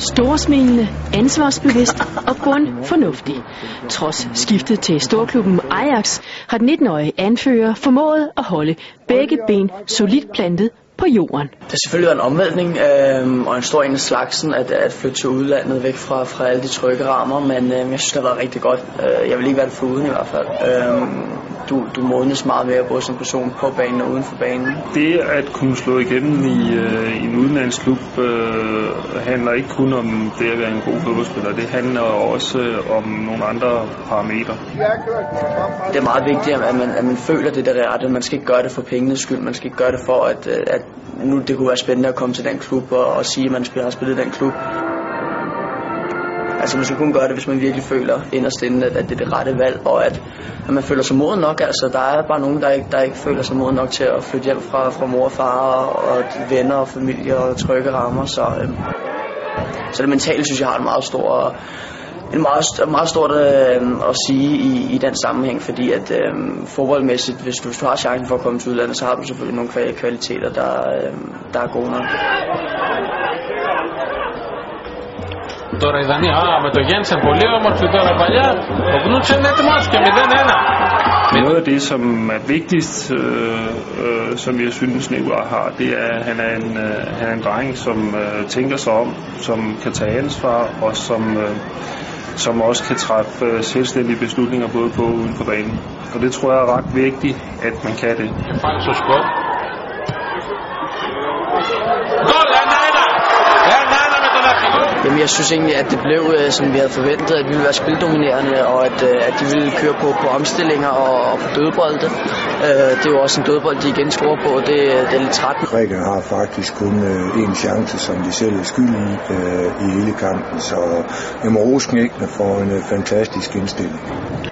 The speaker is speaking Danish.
Storsmilende, ansvarsbevidst og bundfornuftig. Trods skiftet til storklubben Ajax har den 19-årige anfører formået at holde begge ben solidt plantet på jorden. Det har selvfølgelig været en omvæltning og en stor en af slagsen at flytte til udlandet væk fra alle de trygge rammer, men jeg synes, det har været rigtig godt. Jeg vil ikke være det foruden i hvert fald. Du modnes meget mere både som person på banen og uden for banen. Det at kunne slå igennem i en udenlandsklub handler ikke kun om det at være en god fodboldspiller. Det handler også om nogle andre parametre. Det er meget vigtigt, at man føler det der rette. Man skal ikke gøre det for pengenes skyld. Man skal ikke gøre det for, at nu det kunne være spændende at komme til den klub og sige, at man har spillet i den klub. Altså man skal kun gøre det, hvis man virkelig føler inderst inde, at det er det rette valg, og at man føler sig moden nok. Altså der er bare nogen, der ikke føler sig moden nok til at flytte hjem fra mor og far og venner og familie og trygge rammer. Så det mentale, synes jeg, har meget stort at sige i den sammenhæng, fordi at fodboldmæssigt, hvis du har chancen for at komme til udlandet, så har du selvfølgelig nogle kvaliteter, der er gode nok. Τώρα η Δανία, με το Γένσεν πολύ όμορφη τώρα παλιά, ο Γκνούτσεν είναι έτοιμος και 0-1. Noget af det, som er vigtigst, som jeg synes Nicolai har, det er, at han er en dreng, som tænker sig om, som kan tage ansvar, og som også kan træffe selvstændige beslutninger både på og uden for banen. Og det tror jeg er ret vigtigt, at man kan det. Jamen, jeg synes egentlig, at det blev, som vi havde forventet, at vi ville være spildominerende, og at de ville køre på omstillinger og på dødbolde. Det er jo også en dødbold, de igen scorer på, og det er lidt træt. Grækerne har faktisk kun én chance, som de selv er skylden i hele kampen, så jeg må rose knækkene for en fantastisk indstilling.